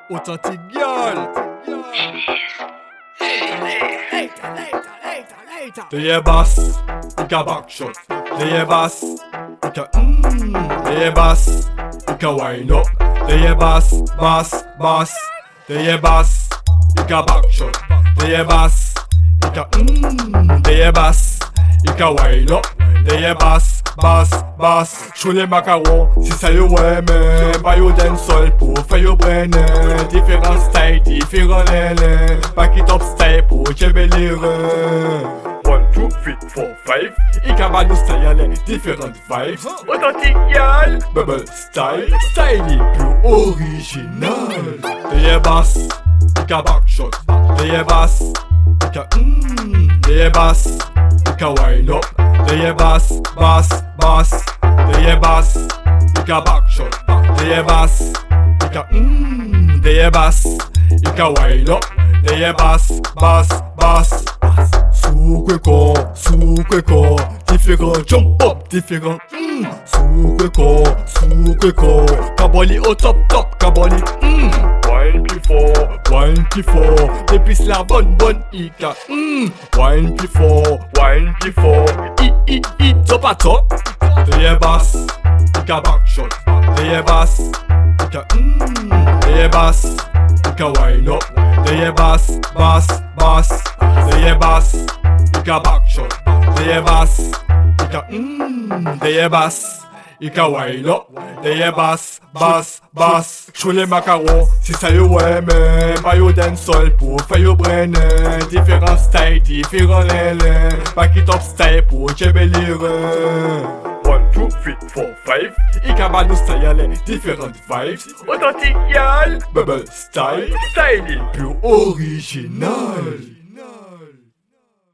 Authentique girl. Det är bass, vilka backshot. Det är bass, vilka det är bass, vilka wind up. Det är bass, bass, bass. Det är bass, vilka backshot. Det är bass, vilka det är bass, vilka wind up. Det är bass, bass, bass. Chou les macarons, si ça yo ouais mais pas yo dancehall pour faire yo brainer. Différents styles, différents lélés. Back it up style pour chever les reins. 1, 2, 3, 4, 5. Il cabane nos styles, différentes vibes. Authentique girl, bubble style. Style plus original. Des bass, il backshot. Des bass, des bass, il wind up. Des bass, bass, bass. Des bass, il backshot. Des bass, des bass, il wind up. Des bass, bass, bass. Soukwe-ko, différents jump up, différents Soukwe-ko, Kabali au top, Kabali Wine plus fort, depuis la bonne Ika Wine plus fort, top à top. Des bass, Ika backshot. Des bass, des bass, Ika wine up. Des bass, bass, bass. Des bass, Ika backshot. Des bass, des bass, Ika wind up. Des bass, bass, bass. Chou les macarons, si ça yo ouais mais pas yo dancehall pour faire yo brainer. Différents styles, différents lélés. Back it up style pour chever les reins. 1, 2, 3, 4, 5. Ika ba nous style, différentes vibes. Authentique girl, bubble style. Style plus original.